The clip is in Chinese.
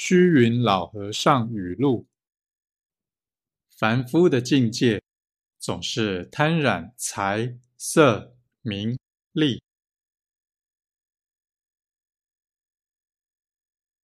虚云老和尚语录：凡夫的境界总是贪染财色名利，